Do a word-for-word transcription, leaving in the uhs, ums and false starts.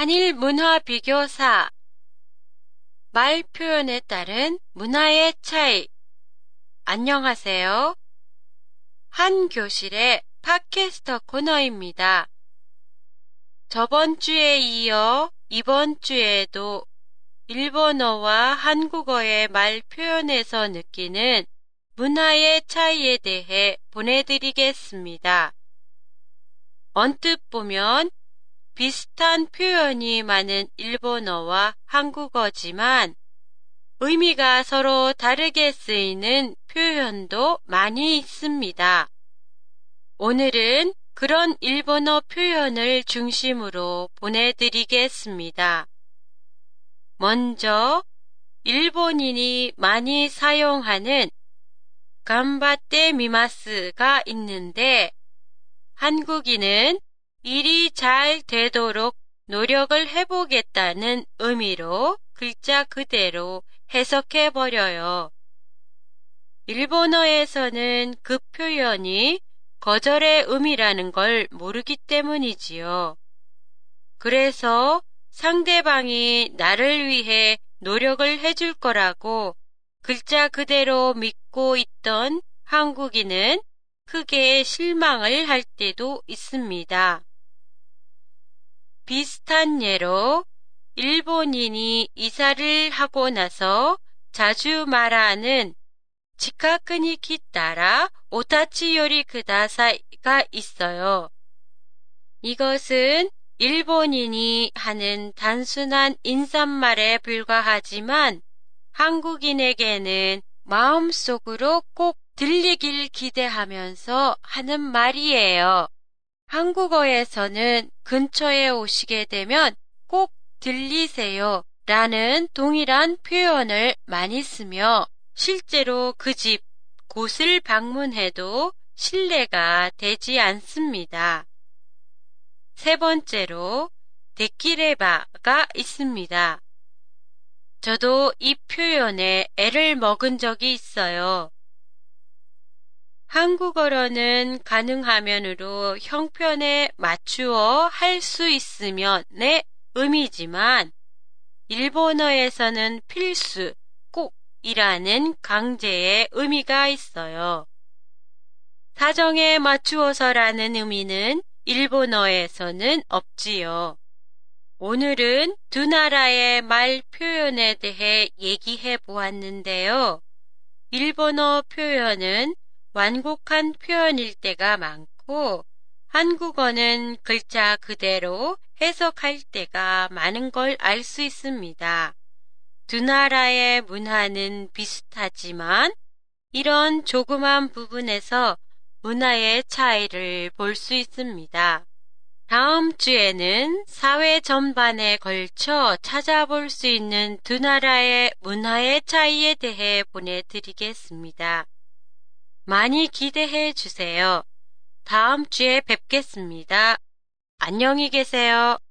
한일 문화 비교사. 말 표현에 따른 문화의 차이. 안녕하세요. 한 교실의 팟캐스터 코너입니다. 저번 주에 이어 이번 주에도 일본어와 한국어의 말 표현에서 느끼는 문화의 차이에 대해 보내드리겠습니다. 언뜻 보면 비슷한 표현이 많은 일본어와 한국어지만 의미가 서로 다르게 쓰이는 표현도 많이 있습니다. 오늘은 그런 일본어 표현을 중심으로 보내드리겠습니다. 먼저 일본인이 많이 사용하는 간바tte 미마스가 있는데 한국인은 일이 잘 되도록 노력을 해보겠다는 의미로 글자 그대로 해석해버려요. 일본어에서는 그 표현이 거절의 의미라는 걸 모르기 때문이지요. 그래서 상대방이 나를 위해 노력을 해줄 거라고 글자 그대로 믿고 있던 한국인은 크게 실망을 할 때도 있습니다. 비슷한 예로 일본인이 이사를 하고 나서 자주 말하는 지카쿠니 키타라 오타치 요리 쿠다사이가 있어요. 이것은 일본인이 하는 단순한 인사말에 불과하지만 한국인에게는 마음속으로 꼭 들리길 기대하면서 하는 말이에요. 한국어에서는 근처에 오시게 되면 꼭 들리세요 라는 동일한 표현을 많이 쓰며 실제로 그 집, 곳을 방문해도 신뢰가 되지 않습니다. 세 번째로 데키레바가 있습니다. 저도 이 표현에 애를 먹은 적이 있어요. 한국어로는 가능하면으로 형편에 맞추어 할 수 있으면의 의미지만 일본어에서는 필수, 꼭이라는 강제의 의미가 있어요. 사정에 맞추어서라는 의미는 일본어에서는 없지요. 오늘은 두 나라의 말 표현에 대해 얘기해 보았는데요. 일본어 표현은 완곡한 표현일 때가 많고 한국어는 글자 그대로 해석할 때가 많은 걸 알 수 있습니다. 두 나라의 문화는 비슷하지만 이런 조그만 부분에서 문화의 차이를 볼 수 있습니다. 다음 주에는 사회 전반에 걸쳐 찾아볼 수 있는 두 나라의 문화의 차이에 대해 보내드리겠습니다. 많이 기대해 주세요. 다음 주에 뵙겠습니다. 안녕히 계세요.